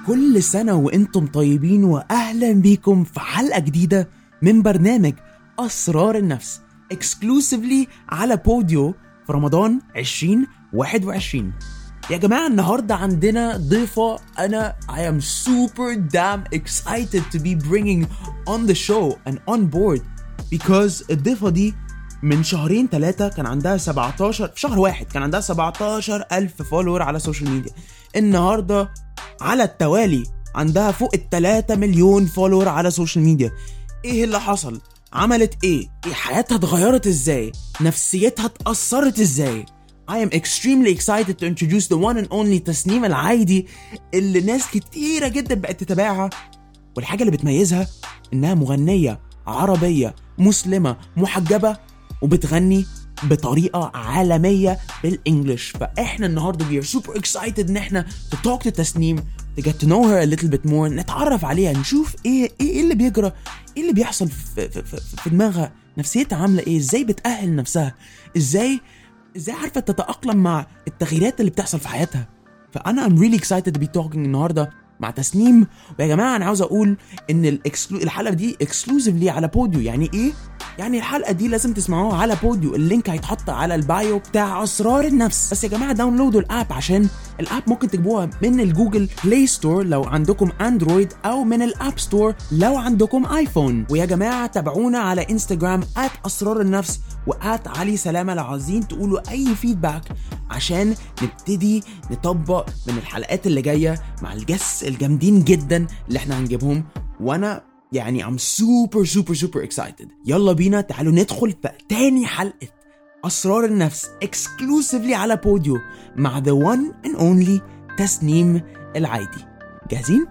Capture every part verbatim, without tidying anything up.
كل سنة وانتم طيبين واهلا بيكم في حلقة جديدة من برنامج أسرار النفس exclusively على بوديو في رمضان عشرين واحد وعشرين. يا جماعة النهاردة عندنا ضيفة أنا I am super damn excited to be bringing on the show and on board because الضيفة دي من شهرين ثلاثة كان عندها سبعتاشر في شهر واحد كان عندها سبعتاشر ألف فولور على السوشيال ميديا. النهاردة على التوالي عندها فوق التلاتة مليون فولور على السوشيال ميديا. ايه اللي حصل؟ عملت ايه؟ ايه حياتها اتغيرت ازاي؟ نفسيتها اتأثرت ازاي؟ I am extremely excited to introduce the one and only تسنيم العايدي اللي ناس كتيرة جدا بقت تتابعها، والحاجة اللي بتميزها انها مغنية عربية مسلمة محجبة وبتغني بطريقة عالمية بالإنجليش. فإحنا النهاردة we are super excited إن إحنا to talk to تسنيم to get to know her a little bit more، نتعرف عليها، نشوف إيه إيه اللي بيجرى، إيه اللي بيحصل في, في, في, في دماغها، نفسيتها عاملة إيه، إزاي بتأهل نفسها، إزاي إزاي عارفة تتأقلم مع التغييرات اللي بتحصل في حياتها. فأنا I'm really excited to be talking النهاردة مع تسنيم. ويا جماعة أنا عاوز أقول إن الإكسلو... الحلقة دي exclusively على بوديو. يعني إيه؟ يعني الحلقة دي لازم تسمعوها على بوديو، اللينك هيتحط على البايو بتاع أسرار النفس. بس يا جماعة داونلودوا الاب، عشان الاب ممكن تجيبوها من الجوجل بلاي ستور لو عندكم اندرويد او من الاب ستور لو عندكم ايفون. ويا جماعة تابعونا على انستجرام ات اسرار النفس وات علي سلامة لو عايزين تقولوا اي فيدباك عشان نبتدي نطبق من الحلقات اللي جاية مع الجس الجامدين جدا اللي احنا هنجيبهم. وانا يعني I'm super super super excited. يلا بينا تعالوا ندخل في تاني حلقة أسرار النفس exclusively على بوديو مع the one and only تسنيم العايدي. جاهزين؟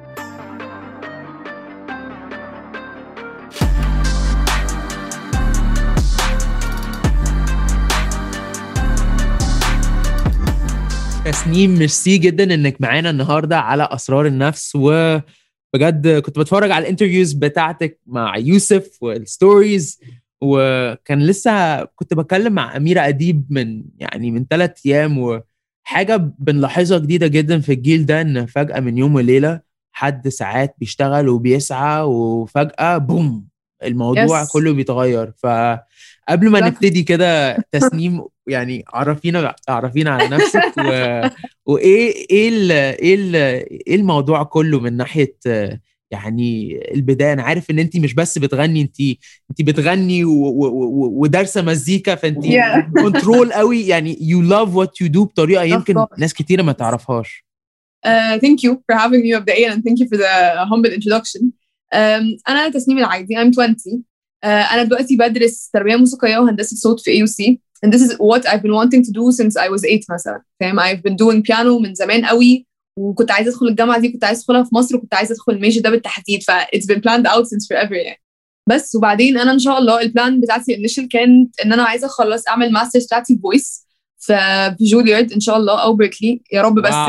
تسنيم ميرسي جدا انك معانا النهاردة على أسرار النفس. و بجد كنت بتفرج على الانترفيوز بتاعتك مع يوسف والستوريز، وكان لسه كنت بكلم مع أميرة أديب من يعني من ثلاث أيام، وحاجة بنلاحظها جديدة جدا في الجيل ده إن فجأة من يوم وليلة حد ساعات بيشتغل وبيسعى وفجأة بوم الموضوع yes. كله بيتغير. فقبل ما نبتدي كده تسنيم يعني عرفينا عرفينا على نفسك و... وايه ايه ال... ايه ال... ايه الموضوع كله من ناحيه يعني البدايه. انا عارف ان انت مش بس بتغني، انت انت بتغني و... و... ودارسه مزيكا، فانت كنترول قوي يعني you love what you do بطريقه يمكن ناس كتيره ما تعرفهاش. Uh, thank you for having me مبدئيا and thank you for the humble introduction. Um, أنا تسنيم العايدي I'm twenty. uh, أنا دلوقتي بدرس تربية موسيقية وهندسة صوت في إيه يو سي and this is what I've been wanting to do since I was eight مثلا. فاهم؟ I've been doing piano من زمان قوي، وكنت عايزة أدخل الجامعة دي، كنت عايزة أدخلها في مصر، وكنت عايزة أدخل الميجر ده بالتحديد. ف it's been planned out since forever يعني. بس وبعدين أنا إن شاء الله البلان بتاعتي initial كانت إن أنا عايزة أخلص أعمل ماسترز بتاعتي voice في جوليارد إن شاء الله أو بريكلي يا رب. بس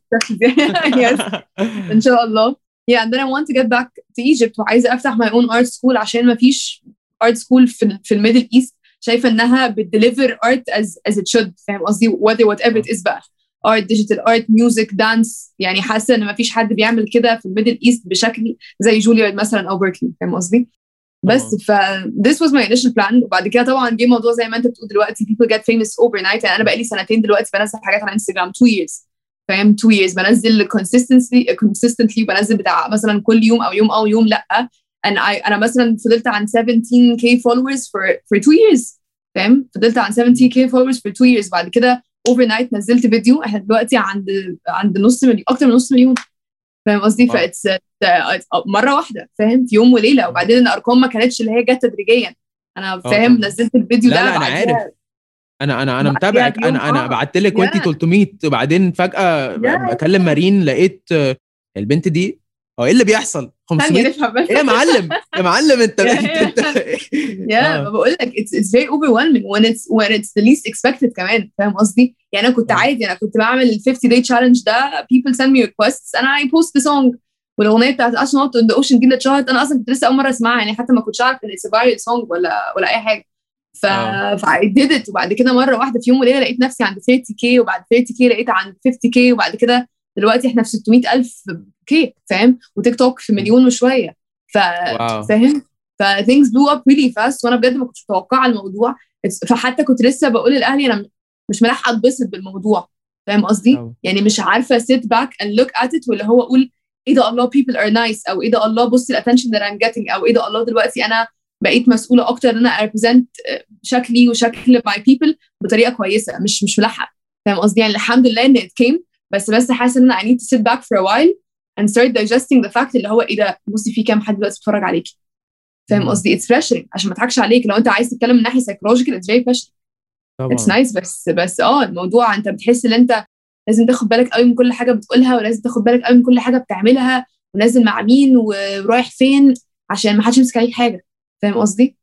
yes. إن شاء الله. Yeah, and then I want to get back to Egypt وعايزة أفتح my own art school عشان ما فيش art school في في الميدل إيست شايفة إنها بتدeliver art as as it should. فاهم قصدي؟ whether whatever it is بقى art, digital art, music, dance. يعني حاسة إن ما فيش حد بيعمل كده في الميدل إيست بشكل زي جوليارد مثلا أو بريكلي. فاهم قصدي؟ بس ف this was my initial plan. وبعد كده طبعا جه موضوع زي ما أنت بتقول دلوقتي people get famous overnight. يعني أنا بقالي سنتين دلوقتي بنزل حاجات على انستغرام two years. فاهم؟ two years بنزل consistently consistently وبنزل بتاع مثلا كل يوم أو يوم أو يوم لأ. and I أنا مثلا فضلت عن seventeen K followers for for two years. فاهم؟ فضلت عن seventeen K followers for two years. بعد كده overnight نزلت فيديو احنا دلوقتي عند عند نص مليون، أكتر من نص مليون. فاهم قصدي؟ فإتس مرة واحدة. فاهم؟ في يوم وليلة. وبعدين الأرقام ما كانتش اللي هي جت تدريجيا. أنا فاهم نزلت الفيديو لا ده لا أنا عارف، انا انا انا متابعك. انا انا بعت لك وانتي ثلاثمية وبعدين فجأة بكلم مارين لقيت البنت دي هو ايه اللي بيحصل خمسمية ايه يا معلم يا معلم انت انت يا بقول لك it's it's very overwhelming when it's when it's the least expected كمان. فاهم قصدي؟ يعني انا كنت عادي، انا كنت بعمل ال fifty day challenge ده people send me requests and I post the song. والاغنيه بتاعت astronaut on the ocean دي اللي اتشهرت انا اصلا كنت لسه اول مره اسمعها، يعني حتى ما كنتش عارف ان it's a viral song ولا ولا اي حاجه. ف I did it. وبعد كده مره واحده في يوم وليله لقيت نفسي عند thirty K وبعد thirty K لقيت عند fifty K وبعد كده دلوقتي احنا في ستمية ألف كي فاهم، وتيك توك في مليون وشويه. ف واو. فاهم ف things blew up really fast، وانا بجد ما كنتش متوقعه الموضوع. فحتى كنت لسه بقول لاهلي انا مش ملاحقه اتبسط بالموضوع، فاهم قصدي؟ طبعا. يعني مش عارفه sit back and look at it، واللي هو اقول ايه ده الله people are nice، او ايه ده الله بص ال attention that I'm getting، او ايه ده الله دلوقتي انا بقيت مسؤوله اكتر ان انا represent شكلي وشكل my people بطريقه كويسه، مش مش ملاحقه، فاهم قصدي؟ يعني الحمد لله ان it came، بس بس حاسه ان انا I need to sit back for a while and start digesting the fact اللي هو ايه ده بصي في كام حد دلوقتي بيتفرج عليكي، فاهم قصدي؟ it's pressuring عشان ما اضحكش عليك، لو انت عايز تتكلم من ناحيه psychological it's very pressuring. طبعا. it's nice بس بس اه الموضوع انت بتحس ان انت لازم تاخد بالك قوي من كل حاجه بتقولها، ولازم تاخد بالك قوي من كل حاجه بتعملها، ونازل مع مين ورايح فين عشان ما حدش يمسك عليك حاجه، فاهم قصدي؟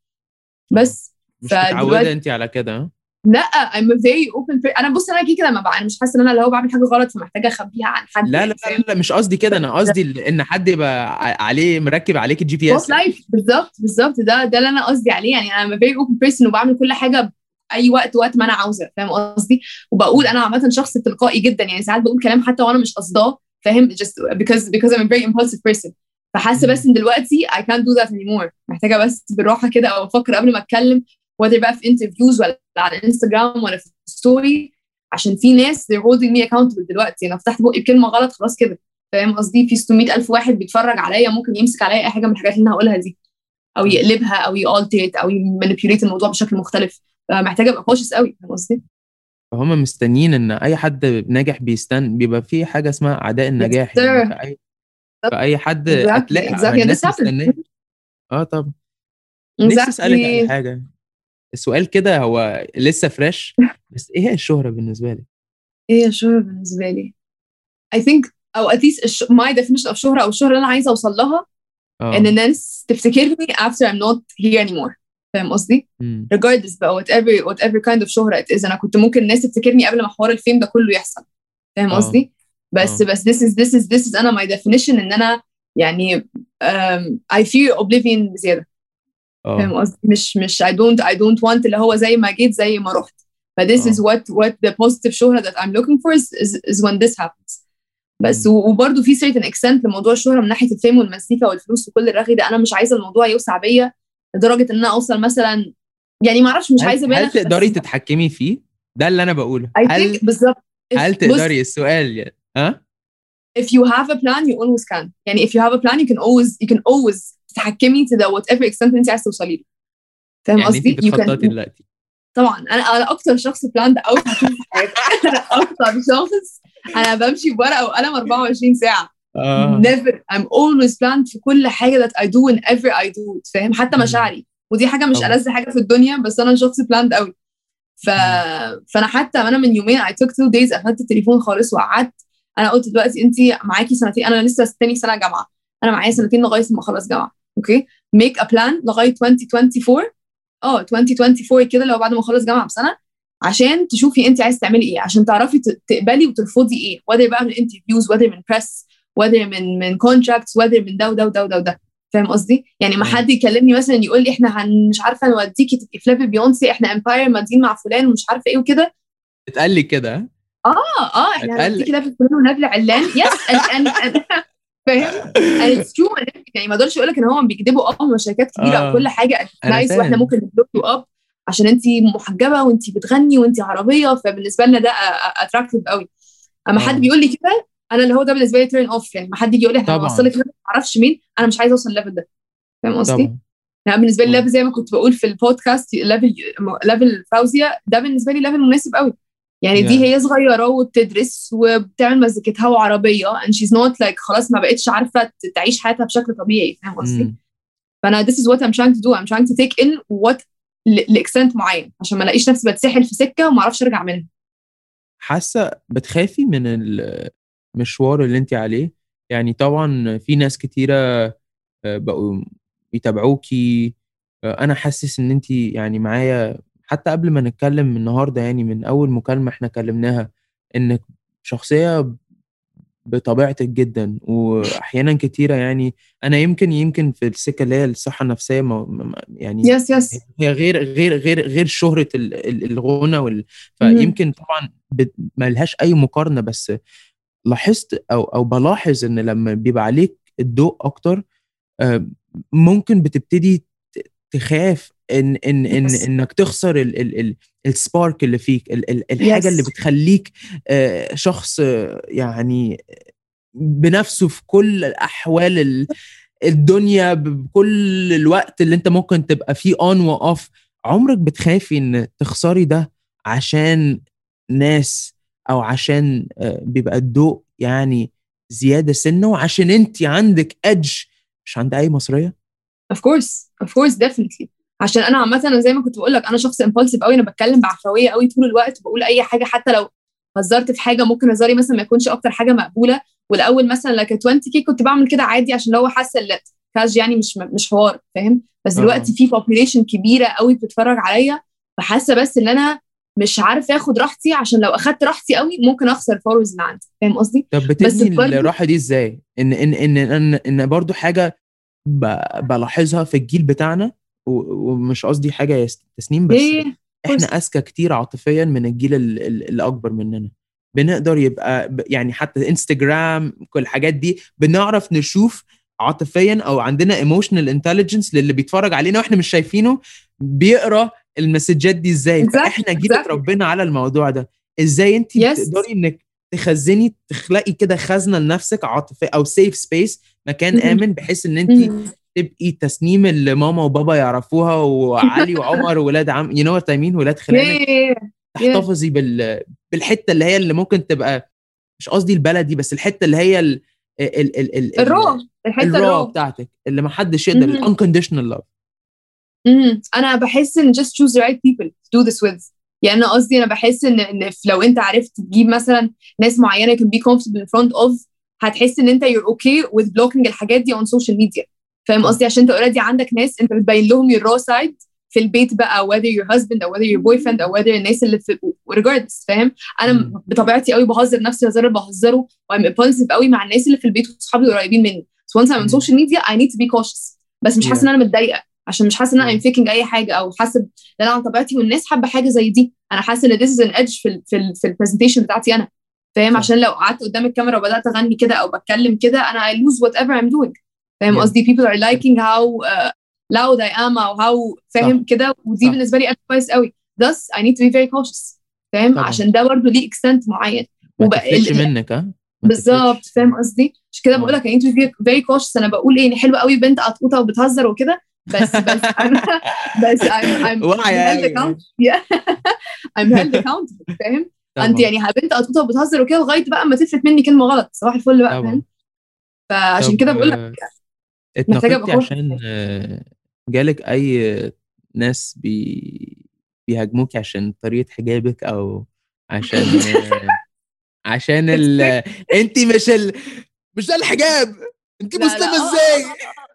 بس مش متعوده انت على كده؟ لا I'm a very open person. انا بص انا كده كده ما بقى انا مش حاسه ان انا اللي هو بعمل حاجه غلط فمحتاجه اخبيها عن حد. لا لا لا, لا مش قصدي كده، انا قصدي ان حد يبقى عليه مركب عليك الجي بي اس لايف. بالظبط بالظبط ده ده اللي انا قصدي عليه. يعني انا very open person وبعمل كل حاجه اي وقت وقت ما انا عاوزه، فاهم قصدي؟ وبقول انا عامه شخص تلقائي جدا، يعني ساعات بقول كلام حتى وانا مش قصداه، فاهم؟ just because because I'm a very impulsive person. فحاسه بس ان دلوقتي I can't do that anymore، محتاجه بس بالراحه كده او افكر قبل ما اتكلم، whether بقى في انترفيوز ولا على انستغرام ولا في ستوري، عشان في ناس they're holding me accountable دلوقتي. انا فتحت بقي بكلمه غلط خلاص كده، فاهم قصدي؟ في ستمية ألف واحد بيتفرج عليا ممكن يمسك عليا اي حاجه من الحاجات اللي انا هقولها دي، او يقلبها او يالتريت او يمانيبيوليت الموضوع بشكل مختلف. فمحتاجه ابقى كوشس قوي، فاهم قصدي؟ فهم مستنيين ان اي حد ناجح بيستن بيبقى في حاجه اسمها اعداء النجاح، يعني في اي في اي حد هتلاقي exactly. exactly. الناس مستنيه. اه طبعا. نفسي اسالك على حاجه، السؤال كده هو لسه فريش، بس ايه هي الشهره بالنسبه لك؟ ايه الشهره بالنسبه لي؟ I think او at least الش... my definition of شهره او الشهره اللي انا عايزه اوصل لها أوه. ان الناس تفتكرني after I'm not here anymore، فاهم قصدي؟ regardless بقى whatever whatever kind of شهره it is. انا كنت ممكن الناس تفتكرني قبل ما حوار الفيم ده كله يحصل، فاهم قصدي؟ بس أوه. بس this is this is this is انا my definition ان انا يعني um, I fear oblivion بزياده، فاهم قصدي؟ مش مش I don't I don't want اللي هو زي ما جيت زي ما رحت. ف this is what what the positive شهرة that I'm looking for is, is, is when this happens. بس وبرده في certain extent لموضوع الشهرة من ناحية الفيم والمزيكا والفلوس وكل الرغي ده، أنا مش عايزة الموضوع يوسع بيا لدرجة إن أنا أوصل مثلا، يعني ما أعرفش، مش عايزة هل تقدري تتحكمي فيه؟ ده اللي أنا بقوله. هل بالظبط هل تقدري السؤال يعني ها؟ If you have a plan you always can. يعني if you have a plan you can always you can always تتحكمي to the whatever extent أنت عايزة توصلي له، فاهم يعني قصدي؟ أنت بتخططي دلوقتي؟ طبعا انا انا اكتر شخص بلاند اوت هشوف في حياتي. انا اكتر شخص انا بمشي بورقه وقلم أربعة وعشرين ساعه. uh. never I'm always planned في كل حاجه that I do whenever I do it، فاهم؟ حتى مشاعري، ودي حاجه مش ألذ حاجه في الدنيا، بس انا شخص بلاند قوي. ف... فانا حتى انا من يومين I took two days قفلت التليفون خالص وقعدت. انا قلت دلوقتي انت معاكي سنتين، انا لسه تاني سنه جامعه، انا معايا سنتين لغايه ما اخلص جامعه، اوكي؟ make a plan لغايه twenty twenty-four اه twenty twenty-four كده، لو بعد ما اخلص جامعه بسنه، عشان تشوفي انت عايز تعملي ايه، عشان تعرفي تقبلي وترفضي ايه، whether بقى من انترفيوز whether من بريس whether من من كونتراكتس whether من ده وده وده وده، فاهم قصدي؟ يعني ما حد يكلمني مثلا يقول لي احنا هن مش عارفه نوديكي تبقي في ليفل بيونسي، احنا امباير مادين مع فلان ومش عارفه ايه وكده. اتقال لي كده؟ اه اه احنا هنوديكي ليفل فلان ونبل علان. يس فاهم؟ and it's true. يعني ما اقدرش اقول لك ان هم بيكذبوا، اه هم شركات كبيره آه. وكل حاجه نايس واحنا ممكن نبلوك يو اب عشان انت محجبه وانت بتغني وانت عربيه، فبالنسبه لنا ده اتراكتيف قوي. اما آه. حد بيقول لي كده انا اللي هو ده بالنسبه لي تيرن اوف. يعني ما حد يجي يقول لي احنا هنوصلك ما اعرفش مين، انا مش عايزه اوصل الليفل ده، فاهم قصدي؟ يعني بالنسبه لي ليفل زي ما كنت بقول في البودكاست ليفل ليفل فوزيه ده بالنسبه لي ليفل مناسب قوي. يعني yeah. دي هي صغيرة وبتدرس وبتعمل مزيكتها وعربية and she's not like خلاص ما بقتش عارفة تعيش حياتها بشكل طبيعي، فاهم قصدي؟ mm. فأنا this is what I'm trying to do. I'm trying to take in what لإكستنت معين عشان ما الاقيش نفسي بتسحل في سكة وما اعرفش ارجع منها. حاسة بتخافي من المشوار اللي انت عليه؟ يعني طبعا في ناس كتيرة بقوا يتابعوكي، أنا حاسس إن انت يعني معايا حتى قبل ما نتكلم النهاردة، يعني من أول مكالمة احنا كلمناها، إنك شخصية بطبيعتك جدا، وأحيانا كتيرة يعني أنا يمكن يمكن في السكة اللي هي الصحة النفسية يعني yes, yes. هي غير غير غير غير شهرة الغنى وال... فيمكن طبعا ما لهاش أي مقارنة، بس لاحظت او او بلاحظ ان لما بيبقى عليك الضوء اكتر ممكن بتبتدي تخاف ان ان ان yes. انك تخسر ال ال ال السبارك اللي فيك، ال ال الحاجه yes. اللي بتخليك شخص يعني بنفسه في كل الاحوال الدنيا، بكل الوقت اللي انت ممكن تبقى فيه اون واوف. عمرك بتخافي ان تخسري ده عشان ناس، او عشان بيبقى الضوء يعني زياده سنه، وعشان انت عندك ادج مش عند اي مصريه؟ of course of course definitely. عشان انا عامه زي ما كنت بقول لك انا شخص امبولسيف قوي، انا بتكلم بعفويه قوي طول الوقت، بقول اي حاجه حتى لو هزرت في حاجه ممكن هزاري مثلا ما يكونش اكتر حاجه مقبوله. والاول مثلا لك عشرين كي كنت بعمل كده عادي عشان لو حاسه كاج يعني مش مش حوار فاهم. بس دلوقتي في population كبيره قوي بتتفرج عليا، فحاسه بس ان انا مش عارفه اخد راحتي، عشان لو اخدت راحتي قوي ممكن اخسر الفولورز اللي عندي، فاهم قصدي؟ طب بتبني الراحه دي ازاي؟ ان ان ان ان, إن برضو حاجه بلاحظها في الجيل بتاعنا، ومش قصدي حاجه تسنيم، بس إيه؟ احنا اذكى كتير عاطفيا من الجيل اللي اكبر مننا. بنقدر يبقى يعني حتى انستجرام كل الحاجات دي بنعرف نشوف عاطفيا، او عندنا ايموشنال انتليجنس للي بيتفرج علينا واحنا مش شايفينه بيقرا المسجات دي ازاي. exactly. فاحنا جيل exactly. اتربينا على الموضوع ده. ازاي انت yes. بتقدري انك تخزني تخلقي كده خزنه لنفسك عاطفيه او سيف سبيس، مكان mm-hmm. امن، بحيث ان انت mm-hmm. تبقي تسنيم اللي ماما وبابا يعرفوها، وعلي وعمر ولاد عم يو نو وات اي مين ولاد خلانك yeah. yeah. تحتفظي بال بالحته اللي هي اللي ممكن تبقى مش قصدي البلدي، بس الحته اللي هي ال ال ال ال الرو الحته الرو بتاعتك اللي ما حدش يقدر، الانكونديشنال لاف. انا بحس ان just choose the right people to do this with. يعني انا قصدي انا بحس ان ان لو انت عرفت تجيب مثلا ناس معينه can be comfortable in front of، هتحس ان انت you're okay with blocking الحاجات دي on social media، فاهم قصدي؟ عشان انت already عندك ناس انت بتبين لهم your raw side في البيت بقى، whether your husband او whether your boyfriend او whether الناس اللي في regardless، فاهم؟ انا م. بطبيعتي قوي بهزر نفسي هزار اللي بهزره، I'm impulsive قوي مع الناس اللي في البيت وصحابي قريبين مني. so once I'm on social media I need to be cautious، بس مش حاسه yeah. ان انا متضايقه، عشان مش حاسه ان انا I'm faking اي حاجه، او حاسه ان انا عن طبيعتي والناس حابه حاجه زي دي. انا حاسه ان this is an edge في ال في ال في البرزنتيشن بتاعتي انا، فاهم؟ عشان لو قعدت قدام الكاميرا وبدات اغني كده او بتكلم كده انا I lose whatever I'm doing، فاهم قصدي؟ yeah. people are liking how uh, loud I am او how فاهم كده، ودي بالنسبه لي كويس قوي. thus I need to be very cautious، فاهم؟ عشان ده برضه ليه extent معين ما تفلتش منك. ها بالظبط، فاهم قصدي؟ عشان كده بقول لك I need to be very cautious. انا بقول ايه، حلوه قوي بنت قطقوطه وبتهزر وكده، بس بس I'm بس I'm I'm held accountable. I'm held accountable، فاهم؟ انت يعني بنت قطقوطه وبتهزر وكده لغايه بقى ما تفلت مني كلمه غلط، صباح الفل بقى، فاهم؟ فعشان كده بقول لك اتنقلتي عشان جالك اي ناس بي بيهاجموك عشان طريقه حجابك، او عشان عشان ال انت مش ال مش ده الحجاب، انت مسلمه ازاي؟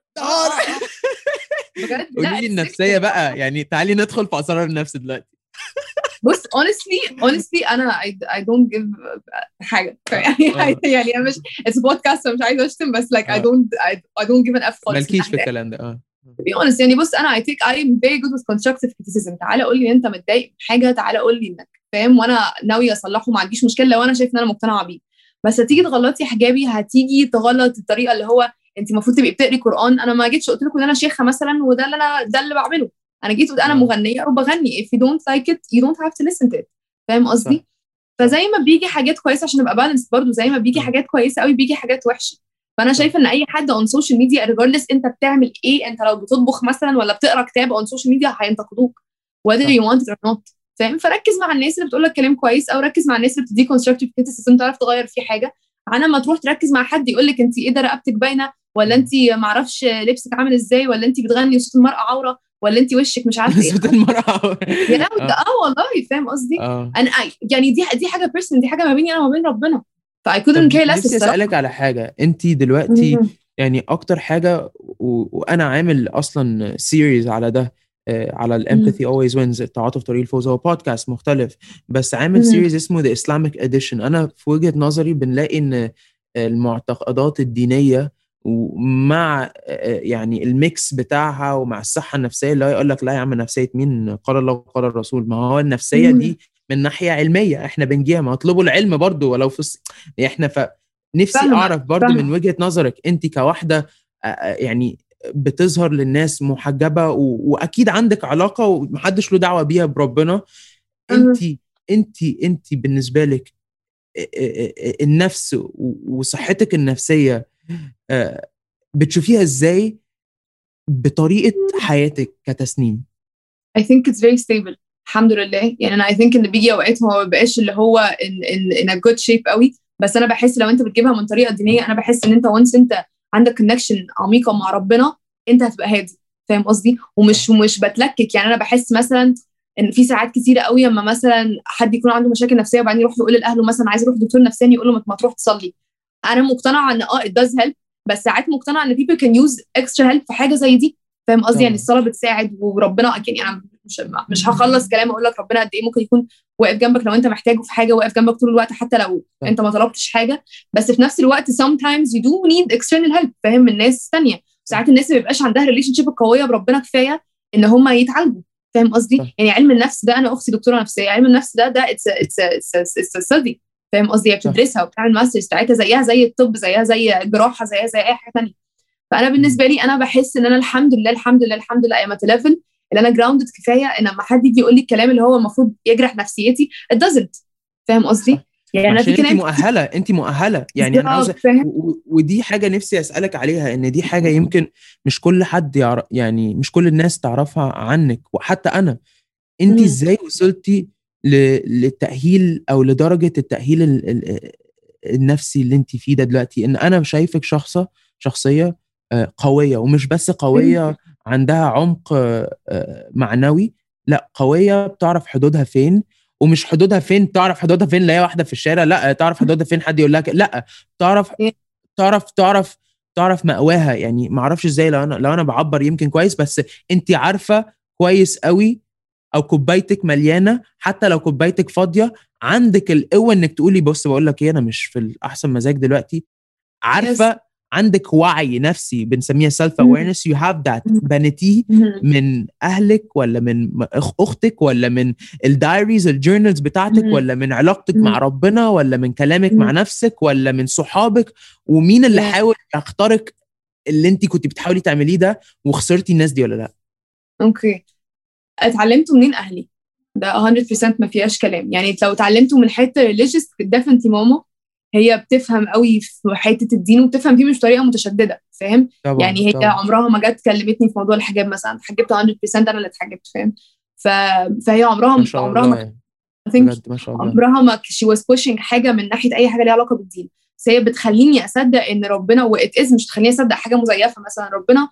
بجد قولي لي النفسيه بقى، يعني تعالي ندخل في اسرار النفس دلوقتي. بص honestly honestly انا I, I don't give حاجه يعني يعني انا مش it's a podcast فمش عايزه اشتم، بس like I don't I, I don't give an F خالص. مالكيش في الكلام ده. اه to be honest يعني بص انا I take I am very good with constructive criticism. تعالى قول لي انت متضايق من حاجه، تعالى قول لي انك فاهم وانا ناوي اصلحه، ما عنديش مشكله لو انا شايف ان انا مقتنعه بيه. بس هتيجي تغلطي حجابي، هتيجي تغلط الطريقه اللي هو انت المفروض تبقي بتقري قران. انا ما جيتش قلت لكم ان انا شيخه مثلا وده اللي انا ده اللي بعمله، انا جيت قلت انا مغنيه وبغني. if you don't like it you don't have to listen to it، فاهم قصدي؟ فزي ما بيجي حاجات كويسه عشان ابقى بالانس برضو، زي ما بيجي حاجات كويسه قوي بيجي حاجات وحشه. فانا شايفه ان اي حد اون سوشيال ميديا regardless انت بتعمل ايه، انت لو بتطبخ مثلا ولا بتقرا كتاب اون سوشيال ميديا هينتقدوك whether you want it or not، فاهم؟ فركز مع الناس اللي بتقول لك كلام كويس، او ركز مع الناس اللي بتديك constructive criticism تعرف تغير فيه حاجه، انا ما تروح تركز مع حد يقول لك انت ايه ده رقبتك باينه، ولا انت ما اعرفش لبسك عامل ازاي، ولا انت بتغني وصوت المرأة عوره، ولا انت وشك مش عارفه ايه. صوت المرأة يا اه والله، فاهم قصدي؟ انا يعني دي دي حاجه بيرسونال، دي حاجه ما بيني انا وما بين ربنا، ف I couldn't care less. نفسي اسالك على حاجه، انت دلوقتي يعني اكتر حاجه و... وانا عامل اصلا سيريز على ده، على الامباثي always wins، التعاطف طريق الفوز، هو بودكاست مختلف بس عامل سيريز اسمه The Islamic Edition. انا في وجهة نظري بنلاقي ان المعتقدات الدينية ومع يعني الميكس بتاعها ومع الصحة النفسية، اللي هو يقول لك لا يا عم نفسية مين، قال الله وقال الرسول. ما هو النفسية دي من ناحية علمية احنا بنجيها، ما اطلبوا العلم برضو ولو في الص... احنا ف نفسي فاهمة اعرف برضو فاهمة من وجهة نظرك انت كواحدة آه، آه، يعني بتظهر للناس محجبة و- واكيد عندك علاقة ومحدش له دعوة بيها بربنا. انت أها. انت انت بالنسبة لك آه، آه، آه، النفس و- وصحتك النفسية آه، بتشوفيها ازاي بطريقة حياتك كتسنيم؟ I think it's very stable الحمد لله. يعني انا I think ان بيجي اوقات هو ما بقاش اللي هو in, in, in a good shape قوي، بس انا بحس لو انت بتجيبها من طريقه دينيه، انا بحس ان انت once انت عندك connection عميقه مع ربنا انت هتبقى هادي. فاهم قصدي؟ ومش مش بتلكك. يعني انا بحس مثلا ان في ساعات كتيره قوي اما مثلا حد يكون عنده مشاكل نفسيه وبعدين يروح يقول لاهله مثلا عايز اروح دكتور نفساني، يقول له ما ما تروح تصلي. انا مقتنعه ان اه it does help، بس ساعات مقتنعه ان people can use extra help في حاجه زي دي. فاهم قصدي؟ يعني طبعا الصلاه بتساعد وربنا يعني انا مش مش هخلص كلام اقول لك ربنا قد ايه ممكن يكون واقف جنبك لو انت محتاجه في حاجه، واقف جنبك طول الوقت حتى لو صح انت ما طلبتش حاجه. بس في نفس الوقت sometimes you do need external help فاهم من ناس ثانيه. صح ساعات الناس ما بيبقاش عندها ريليشن شيب قويه بربنا كفايه ان هم يتعالجوا. فاهم قصدي؟ صح يعني علم النفس ده انا اختي دكتوره نفسيه، علم النفس ده ده اتس اتس اتس ستدي. فاهم قصدي؟ هي صح بتدرسها وبتعمل ماسترز بتاعتها زيها زي الطب زيها زي الجراحه زيها زي اي حاجه ثانيه. فانا مم. بالنسبه لي انا بحس ان انا الحمد لله الحمد لله الحمد لله ام ات ليفل اللي انا جراوندد كفايه ان لما حد يجي يقول لي الكلام اللي هو المفروض يجرح نفسيتي it doesn't. فاهم صح قصدي؟ يعني ما انا في عشان انت كلام كتير مؤهلة، انت مؤهلة يعني انا عاوزة بالظبط فاهم. و- و- ودي حاجة نفسي اسألك عليها، ان دي حاجة يمكن مش كل حد يعرف، يعني مش كل الناس تعرفها عنك وحتى انا. انت مم. ازاي وصلتي ل- للتأهيل او لدرجة التأهيل ال- ال- النفسي اللي انت فيه ده دلوقتي؟ ان انا شايفك شخصة شخصية آه، قوية، ومش بس قوية عندها عمق آه، آه، معنوي، لا قوية بتعرف حدودها فين، ومش حدودها فين تعرف حدودها فين لا هي واحدة في الشارع، لا تعرف حدودها فين حد يقول لك لا، تعرف تعرف تعرف تعرف مأواها. يعني ما اعرفش ازاي، لو انا لو انا بعبر يمكن كويس، بس انت عارفة كويس قوي، او كوبايتك مليانه حتى لو كوبايتك فاضيه، عندك القوه انك تقولي بص بقول لك ايه انا مش في الاحسن مزاج دلوقتي. يس. عارفه عندك وعي نفسي بنسميها سيلف اويرنس، يو هاف ذات، بنتيه من اهلك ولا من أخ- اختك ولا من الدايريز الجورنالز بتاعتك ولا من علاقتك مع ربنا ولا من كلامك مع نفسك ولا من صحابك؟ ومين اللي حاول يخترق اللي انت كنت بتحاولي تعمليه ده وخسرتي الناس دي ولا لا؟ اوكي. اتعلمته منين؟ اهلي. ده مية بالمية ما فيهاش كلام. يعني لو اتعلمته من حته religious definitely ماما هي بتفهم قوي في حته الدين وبتفهم فيه مش بطريقه متشدده. فاهم؟ طبعا يعني هي طبعا عمرها ما جت كلمتني في موضوع الحجاب مثلا، اتحجبت مية بالمية انا اللي اتحجبت. فاهم؟ ف... فهي ما عمرها شاء عمرها الله ما يعني، I think بجد ما شاء الله. عمرها ما she was pushing حاجه من ناحيه اي حاجه ليها علاقه بالدين. بس هي بتخليني اصدق ان ربنا وات از مش تخليني اصدق حاجه مزيفه. مثلا ربنا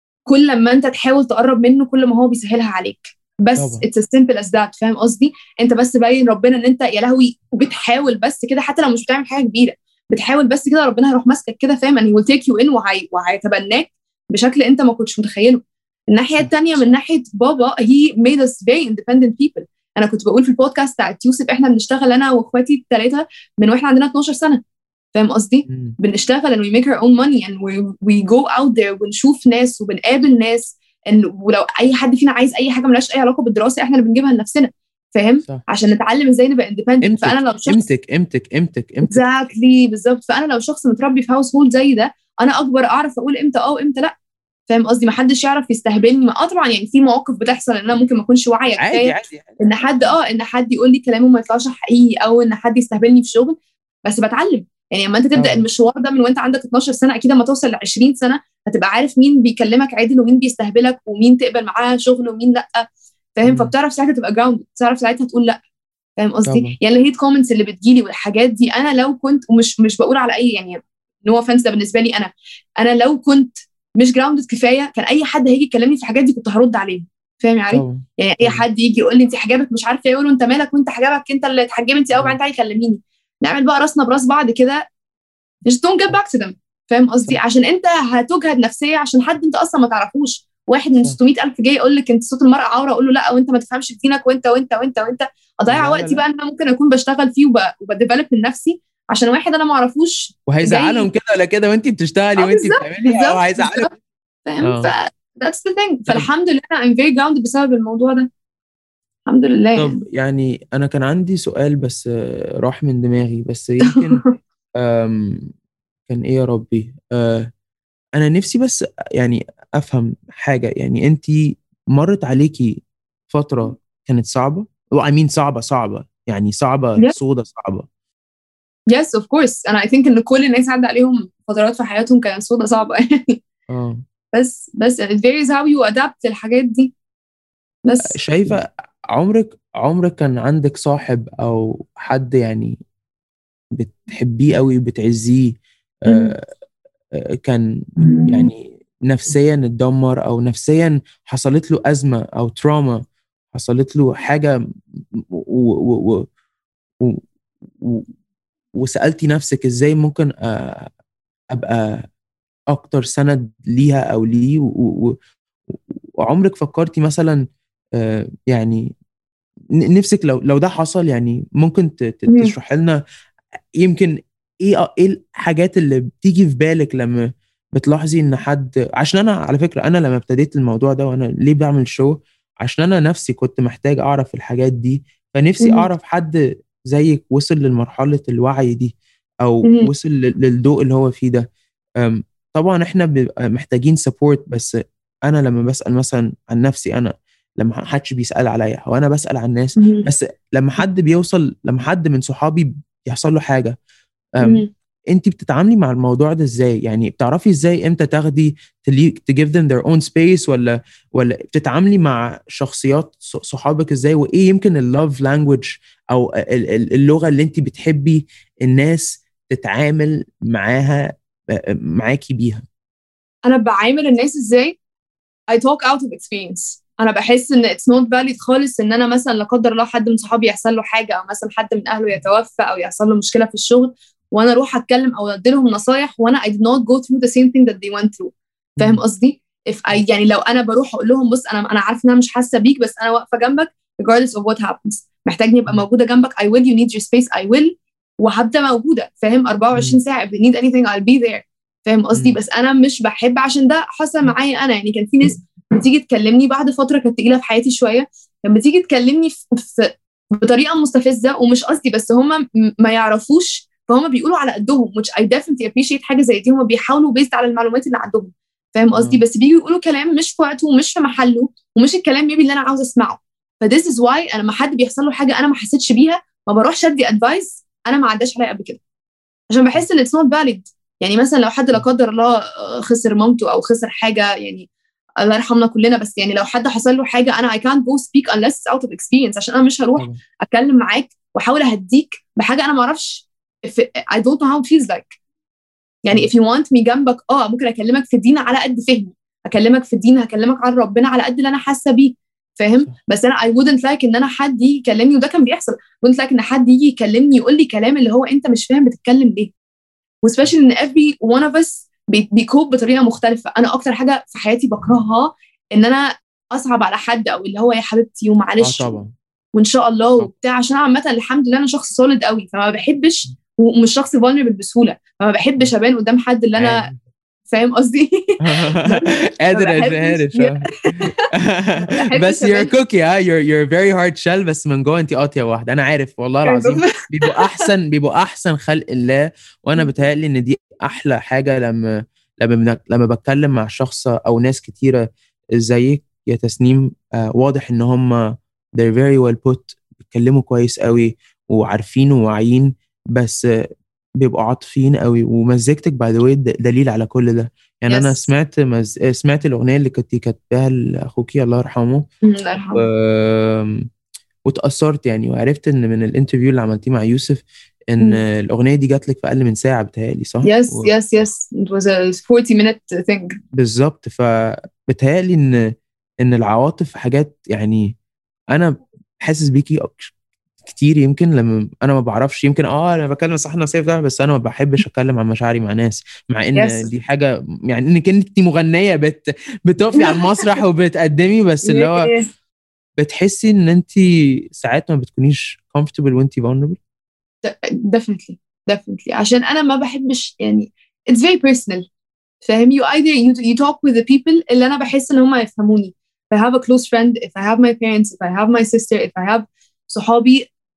كل ما انت تحاول تقرب منه كل ما هو بيسهلها عليك. بس طبعا it's as simple as that. فاهم قصدي؟ انت بس باين ربنا ان انت يا لهوي وبتحاول بس كده حتى لو مش بتعمل حاجه كبيره، بتحاول بس كده ربنا هيروح ماسكك كده. فاهم؟ and he will take you in وهي وهيتبناك بشكل انت ما كنتش متخيله. الناحيه صح الثانيه من ناحيه بابا he made us very independent people. انا كنت بقول في البودكاست بتاعت يوسف احنا بنشتغل انا واخواتي الثلاثه من واحنا عندنا اتناشر سنه. فاهم قصدي؟ مم. بنشتغل and we make our own money and we, we go out there ونشوف ناس وبنقابل ناس. إن ولو اي حد فينا عايز اي حاجه ملهاش اي علاقه بالدراسه احنا اللي بنجيبها لنفسنا. فاهم؟ صح عشان نتعلم ازاي نبقى independent. فانا قيمتك لو شخص قيمتك قيمتك قيمتك قيمتك exactly بالظبط. فانا لو شخص متربي في هاوس هولد زي ده انا اكبر اعرف اقول امتى اه وامتى لا. فاهم قصدي؟ ما حدش يعرف يستهبلني. اه طبعا يعني في مواقف بتحصل ان انا ممكن ما اكونش واعيه عادي كفايه عادي عادي. ان حد اه ان حد يقول لي كلامه ما يطلعش حقيقي او ان حد يستهبلني في شغل. بس بتعلم. يعني لما انت تبدا طبعا المشوار ده من وانت عندك اتناشر سنه اكيد لما توصل ل عشرين سنه هتبقى عارف مين بيكلمك عادل ومين بيستهبلك ومين تقبل معاه شغل ومين لا. فاهم؟ مم. فبتعرف ساعتها تبقى جراوند، تعرف ساعتها تقول لا. فاهم قصدي؟ طبعا يعني الهيت كومنتس اللي بتجيلي والحاجات دي انا لو كنت ومش مش بقول على اي يعني نو اوفنس ده بالنسبه لي انا انا لو كنت مش جراوندد كفايه كان اي حد هيجي يكلمني في الحاجات دي كنت هرد عليه. فاهم يا علي؟ طبعا يعني اي طبعا حد يجي يقول لي انت حجابك مش عارفه ايه يقول له انت مالك وانت حجابك انت اللي اتحجبي انت اول مم. بعدين تعالي كلميني نعمل بقى راسنا براس بعض كده. just don't get صح back to them. فاهم قصدي؟ صح عشان انت هتجهد نفسيا عشان حد انت اصلا ما تعرفوش. واحد من صح ستمية الف جاي يقول لك انت صوت المرأة عورة اقول له لا وانت ما تفهمش في دينك وانت وانت وانت وانت اضيع لا لا وقتي لا بقى ان انا ممكن اكون بشتغل فيه وب... وبديفلوب من نفسي عشان واحد انا ما اعرفوش وهيزعلهم جاي. كده ولا كده وانت بتشتغلي اه وانت بالظبط بتعملي، او بالظبط هيزعلوا. بالظبط. فاهم؟ ف اه that's the thing. طب فالحمد لله I'm very grounded بسبب الموضوع ده. الحمد لله طب يعني. يعني انا كان عندي سؤال بس آه، راح من دماغي، بس يمكن أم كان ايه يا ربي؟ آه انا نفسي بس يعني افهم حاجة. يعني انتي مرت عليكي فترة كانت صعبة، وأمين صعبة صعبة يعني صعبة yeah. سودة صعبة؟ yes of course أنا I think إن كل الناس عدى عليهم فترات في حياتهم كانت سودة صعبة يعني. اه بس بس it varies how you adapt للحاجات دي بس. شايفة عمرك عمرك كان عندك صاحب أو حد يعني بتحبيه قوي بتعزيه، مم. آه آه، كان يعني نفسيا اتدمر أو نفسيا حصلت له أزمة أو تراما، حصلت له حاجة و و و و و وسألتي نفسك إزاي ممكن آه، أبقى أكتر سند ليها أو ليه، و- و- وعمرك فكرتي مثلا آه، يعني ن- نفسك لو لو ده حصل، يعني ممكن ت- ت- مم. تشرح لنا يمكن ايه ايه الحاجات اللي بتيجي في بالك لما بتلاحظي ان حد. عشان انا على فكرة انا لما ابتديت الموضوع ده وانا ليه بعمل شو، عشان انا نفسي كنت محتاج اعرف الحاجات دي، فنفسي مم. اعرف حد زيك وصل لمرحلة الوعي دي او مم. وصل لل- للضوء اللي هو فيه ده. أم، طبعا احنا بنبقى محتاجين سبورت، بس انا لما بسأل مثلا عن نفسي، انا لما حدش بيسأل عليا هو انا بسأل عن الناس، مم. بس لما حد بيوصل لما حد من صحابي يحصل له حاجة، أم مم. انت بتتعاملي مع الموضوع ده ازاي؟ يعني بتعرفي ازاي امتى تاخدي تلي- to give them their own space، ولا ولا بتتعاملي مع شخصيات ص- صحابك ازاي؟ وايه يمكن اللوف لانجوج او ال- ال- اللغة اللي انت بتحبي الناس تتعامل معاها معاكي بيها؟ أنا بعامل الناس إزاي؟ I talk out of experience. أنا بحس إن it's not valid خالص إن أنا مثلا لا قدر الله حد من صحابي يحصل له حاجة، أو مثلا حد من أهله يتوفى، أو يحصل له مشكلة في الشغل، وأنا أروح أتكلم أو أدي لهم نصايح وأنا I did not go through the same thing that they went through. فاهم مم. قصدي؟ if I يعني لو أنا بروح أقول لهم بص أنا أنا عارفة إن أنا مش حاسة بيك، بس أنا واقفة جنبك regardless of what happens. محتاجني أبقى مم. موجودة جنبك. I will. You need your space. I will. وهبدأ موجودة. فاهم؟ أربعة وعشرين مم. ساعة. if they need anything I'll be there. فاهم قصدي؟ مم. بس أنا مش بحب عشان ده حصل معايا أنا. يعني كان في ناس بتيجي تكلمني بعد فتره كانت تقيله في حياتي شويه، لما تيجي تكلمني في, في بطريقه مستفزه ومش قصدي، بس هم ما يعرفوش، فهم بيقولوا على قدهم which I definitely appreciate حاجه زي دي. هم بيحاولوا بيزد على المعلومات اللي عندهم. فاهم قصدي؟ آه. بس بييجوا يقولوا كلام مش في وقته ومش في محله ومش الكلام يبي اللي انا عاوزه اسمعه. ف this is why انا لما حد بيحصل له حاجه انا ما حسيتش بيها ما بروحش ادي ادفايس انا ما عداش عليا قبل كده، عشان بحس ان it's not valid. يعني مثلا لو حد لا قدر الله خسر مامته او خسر حاجه، يعني الله يرحمنا كلنا، بس يعني لو حد حصل له حاجه انا I can't go speak unless it's out of experience، عشان انا مش هروح طبعا. اتكلم معاك واحاول اهديك بحاجه انا ما اعرفش if I don't know how it feels like. يعني if you want me جنبك اه ممكن اكلمك في الدين على قد فهمي، اكلمك في الدين هكلمك عن ربنا على قد اللي انا حاسه بيه. فاهم؟ صح. بس انا I wouldn't like ان انا حد يجي يكلمني، وده كان بيحصل. wouldn't like ان حد يجي يكلمني يقول لي كلام اللي هو انت مش فاهم بتتكلم ليه. وسبيشال ان every one of us بي- بيكوب بطريقه مختلفه. انا اكتر حاجه في حياتي بكرهها ان انا اصعب على حد، او اللي هو يا حبيبتي اه ومعلش طبعا. وان شاء الله طبعا. وبتاع، عشان انا عامه الحمد لله انا شخص سوليد قوي، فما بحبش ومش شخص vulnerable بسهوله، فما بحبش ابان قدام حد اللي انا عارف. فاهم قصدي. ما قادر بحبش عارف آه. ما بحبش بس you're a ابان. cookie ها you're you're very hard shell، بس من جوه انت قاطيه واحده. انا عارف والله العظيم بيبقوا احسن بيبقوا احسن خلق الله. وانا بتهيألي ان دي احلى حاجه لما لما بنك- لما بتكلم مع شخص او ناس كتيره زيك يا تسنيم، آه واضح ان هم they're very well put، بيتكلموا كويس قوي وعارفين وواعيين، بس آه، بيبقوا عاطفيين قوي. ومزيكتك باي ذا واي دليل على كل ده. يعني انا يس. سمعت مز... سمعت الاغنيه اللي كنت كاتباها لاخوكي الله يرحمه، الله و... يرحمه. واتأثرت يعني، وعرفت ان من الانترفيو اللي عملتيه مع يوسف ان الاغنيه دي جات لك في اقل من ساعه بتهيألي، صح؟ يس و... يس يس it was a forty minute thing. بالظبط. فبتهيألي ان ان العواطف حاجات يعني انا حاسس بيكي أك- كتير. يمكن لما انا ما بعرفش، يمكن اه انا بكلم صح نصيف ده، بس انا ما بحبش اتكلم عن مشاعري مع ناس، مع ان يس. دي حاجه يعني انك انت مغنيه بت بتقفي على المسرح وبتقدمي، بس اللي هو بتحسي ان انت ساعات ما بتكونيش comfortable وانت vulnerable. definitely definitely عشان انا ما بحبش يعني it's very personal. فاهم؟ you either you, you talk with the people اللي انا بحس ان هم يفهموني. if I have a close friend, if I have my parents, if I have my sister, if I have صحابي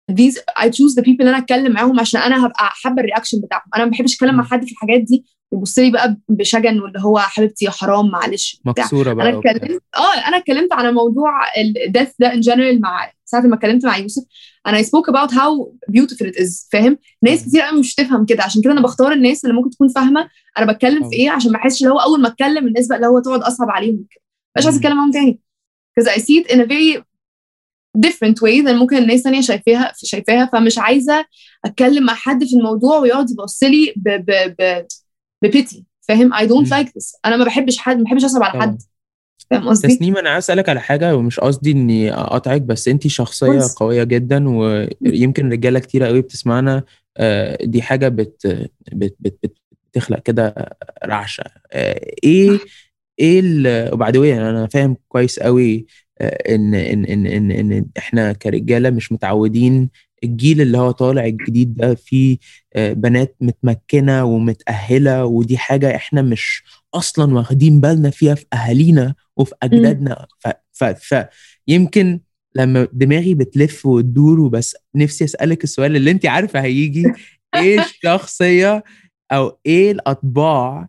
these I choose the people اللي انا اتكلم معاهم عشان انا هبقى حابه الرياكشن بتاعهم. انا ما بحبش اتكلم مع حد في الحاجات دي يبص لي بقى بشجن واللي هو حبيبتي يا حرام معلش مكسوره بقى. انا اتكلمت اه انا اتكلمت على موضوع الديث ده in general مع ساعه ما اتكلمت مع يوسف. انا I spoke about how beautiful it is. فاهم؟ ناس كتير قوي مش تفهم كده، عشان كده انا بختار الناس اللي ممكن تكون فاهمه انا بتكلم في ايه، عشان ما احسش اللي هو اول ما اتكلم الناس بقى اللي هو تقعد اصعب عليهم كده، مش عايزه اتكلم معاهم تاني because I see it in a very different way than ممكن الناس تانية شايفاها شايفاها فمش عايزه اتكلم مع حد في الموضوع ويقعد يبص لي ب ب ب ببيتي. فاهم؟ I don't like this. انا ما بحبش حد، ما بحبش اصعب على حد. فاهم قصدي؟ تسنيم، انا عايز اسالك على حاجه ومش قصدي اني اقاطعك، بس انتي شخصيه بس. قويه جدا ويمكن رجاله كتيره قوي بتسمعنا آه، دي حاجه بت بت بت بت بتخلق كده رعشه. آه، ايه ايه وبعدين انا فاهم كويس قوي آه، ان ان ان ان ان احنا كرجاله مش متعودين. الجيل اللي هو طالع الجديد ده فيه آه، بنات متمكنه ومتاهله، ودي حاجه احنا مش اصلا واخدين بالنا فيها في اهالينا وفي اجدادنا. ف, ف, ف يمكن لما دماغي بتلف وتدور، وبس نفسي اسالك السؤال اللي انت عارفه هيجي: ايه الشخصيه او ايه الاطباع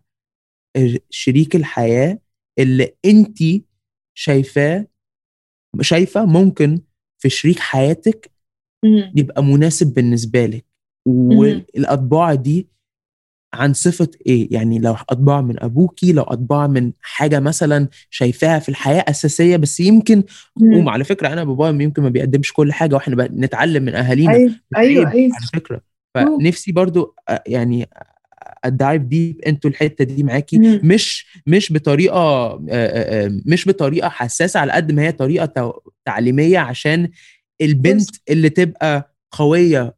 شريك الحياه اللي انت شايفاه شايفه ممكن في شريك حياتك يبقى مناسب بالنسبه لك؟ والاطباع دي عن صفة ايه؟ يعني لو اطباع من ابوكي، لو اطباع من حاجة مثلا شايفاها في الحياة اساسية، بس يمكن وعلى فكرة انا بابايا يمكن ما بيقدمش كل حاجة واحنا نتعلم من اهالينا. ايوه ايوه ايوه على فكرة فنفسي برضو يعني الدايف ديب انتوا الحتة دي معاكي، مم. مش مش بطريقة مش بطريقة حساسة على قد ما هي طريقة تعليمية، عشان البنت اللي تبقى قوية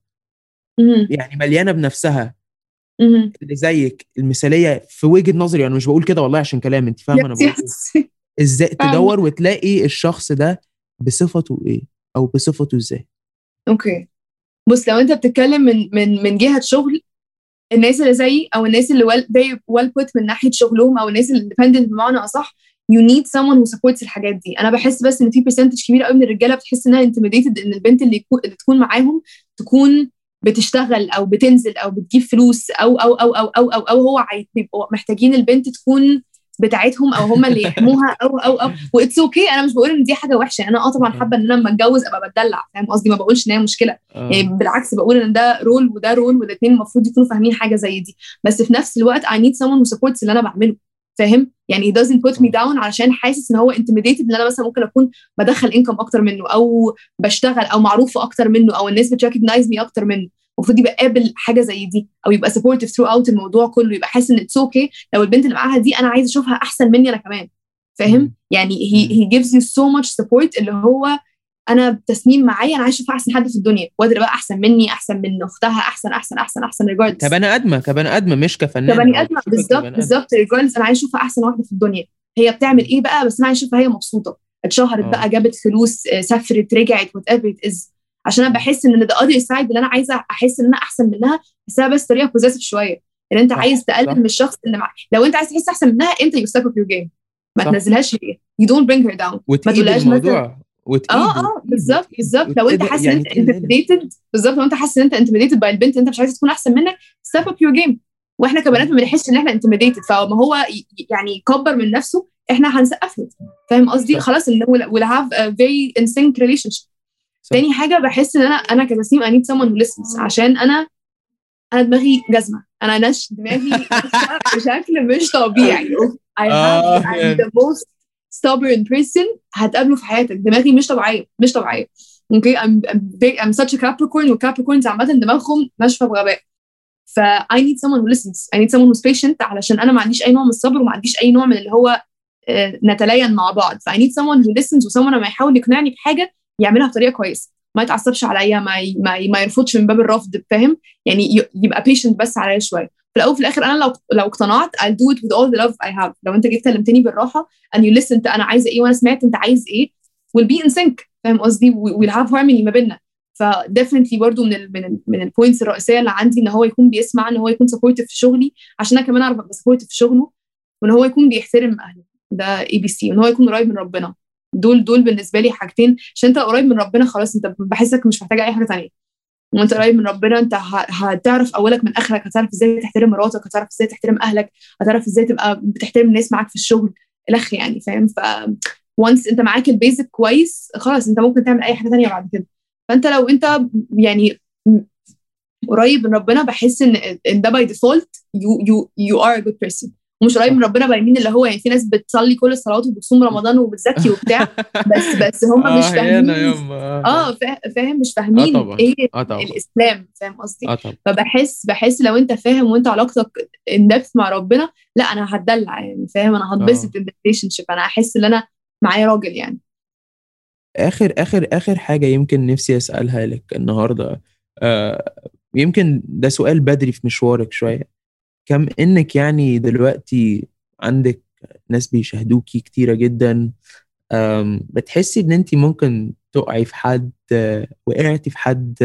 مم. يعني مليانة بنفسها مم. اللي زيك المثاليه في وجهه نظري. انا مش بقول كده والله عشان كلام، انت فاهمه انا بقول ايه. ازاي تدور وتلاقي الشخص ده بصفته ايه او بصفته ازاي؟ اوكي بص، لو انت بتتكلم من من من جهه شغل، الناس اللي زيي او الناس اللي well, very well put من ناحيه شغلهم او الناس اللي independent بمعنى اصح، you need someone who supports الحاجات دي. انا بحس بس ان في percentage كبير قوي من الرجاله بتحس انها intimidated ان البنت اللي, يكون اللي تكون معاهم تكون بتشتغل او بتنزل او بتجيب فلوس او او او او او او, أو هو بيبقوا محتاجين البنت تكون بتاعتهم او هم اللي يحموها او او او واتس اوكي okay. انا مش بقول ان دي حاجه وحشه، انا اه طبعا حابه ان انا لما اتجوز ابقى بتدلع. فاهم قصدي؟ ما بقولش ان هي مشكله آه. يعني بالعكس بقول ان ده رول وده رول والاثنين المفروض يكونوا فاهمين حاجه زي دي، بس في نفس الوقت I need someone who supports اللي انا بعمله. فاهم؟ يعني he doesn't put me down علشان حاسس ان هو intimidated ان انا مثلا ممكن اكون بدخل income اكتر منه او بشتغل او معروفه اكتر منه او الناس بتريكوجنايز مي اكتر منه. المفروض يبقى قابل حاجه زي دي او يبقى supportive throughout الموضوع كله، يبقى حاسس ان it's okay لو البنت اللي معاها دي انا عايزه اشوفها احسن مني انا كمان. فاهم؟ يعني he he gives you so much support اللي هو انا تسنيم معايا انا عايزه اشوفها احسن حد في الدنيا، وقادره بقى احسن مني احسن من اختها احسن احسن احسن احسن regardless. كبني ادمه كبني ادمه مش كفنانه. كبني ادمه بالظبط بالظبط regardless انا عايزه اشوفها احسن واحده في الدنيا. هي بتعمل ايه بقى؟ بس انا عايزه اشوفها هي مبسوطه، اتشهرت أوه. بقى، جابت فلوس، سافرت، رجعت، whatever it is. عشان انا بحس ان the other side اللي انا عايزه احس ان انا احسن منها، بس بس طريقه بوزيسيف شويه ان انت صح. عايز تقلل من الشخص اللي معاك. لو انت عايز تحس احسن منها انت you step up your game، ما صح. تنزلهاش هي you don't bring her down، ما تقولهاش مثلا اه اه بالظبط بالظبط. لو انت حاسس ان انت intimidated بالظبط، لو انت حاسس ان انت intimidated باي البنت انت مش عايز تكون احسن منك step up your game. واحنا كبنات ما بنحسش ان احنا intimidated، فما هو يعني يكبر من نفسه احنا هنسقف له. فاهم قصدي؟ خلاص ان we'll have a very in sync relationship. صح. تاني حاجه بحس ان انا انا كتسنيم I need someone who listens، عشان انا انا دماغي جزمه، انا نش دماغي بشكل مش طبيعي. I have I'm the most stubborn person هتقابله في حياتك. دماغي مش طبيعيه مش طبيعيه. اوكي okay? I'm I'm, big, I'm such a Capricorn والCapricorns عامه دماغهم ناشفه بغباء. ف I need someone who listens. I need someone who's patient علشان انا ما عنديش اي نوع من الصبر وما عنديش اي نوع من اللي هو آه نتلين مع بعض. ف I need someone who listens وsomeone لما يحاول يقنعني بحاجه يعملها بطريقه كويسه، ما يتعصبش عليا، ما ي... ما, ي... ما يرفضش من باب الرفض. فاهم؟ يعني ي... يبقى patient بس عليا شويه. في الاول وفي الاخر انا لو لو اقتنعت I'll do it with all the love I have. لو انت جيت كلمتني بالراحه and you listened انا عايزه ايه وانا سمعت انت عايز ايه we'll be in sync. فاهم قصدي؟ we'll have harmony ما بيننا. ف definitely برضو من ال من ال من البوينتس الرئيسيه اللي عندي ان هو يكون بيسمع، ان هو يكون supportive في شغلي عشان انا كمان اعرف ابقى supportive في شغله، وان هو يكون بيحترم اهله. ده اي بي سي. وان هو يكون قريب من ربنا. دول دول بالنسبه لي حاجتين. عشان انت قريب من ربنا خلاص انت بحسك مش محتاجه اي حاجه ثانيه. وانت قريب من ربنا انت هتعرف اولك من اخرك، هتعرف ازاي تحترم مراتك، هتعرف ازاي تحترم اهلك، هتعرف ازاي تبقى بتحترم الناس معاك في الشغل الاخ يعني فاهم. ف once انت معاك البيزك كويس خلاص انت ممكن تعمل اي حاجه تانية بعد كده. فانت لو انت يعني قريب من ربنا بحس ان ان ده باي ديفولت you you you are a good person. ومش قريب من ربنا بايمين اللي هو يعني في ناس بتصلي كل الصلوات وبتصوم رمضان وبتزكي وبتاع بس بس هم مش فاهمين اه فاهم مش فاهمين آه ايه آه الاسلام فاهم قصدي. آه فبحس بحس لو انت فاهم وانت علاقتك ان دبث مع ربنا لا انا هتدلع يعني فاهم انا هتبسط ان ريليشن شيب انا احس ان انا معايا راجل يعني. اخر اخر اخر حاجه يمكن نفسي اسالها لك النهارده آه يمكن ده سؤال بدري في مشوارك شويه، كم انك يعني دلوقتي عندك ناس بيشاهدوكي كتيره جدا، بتحسي ان انت ممكن تقعي في حد، وقعتي في حد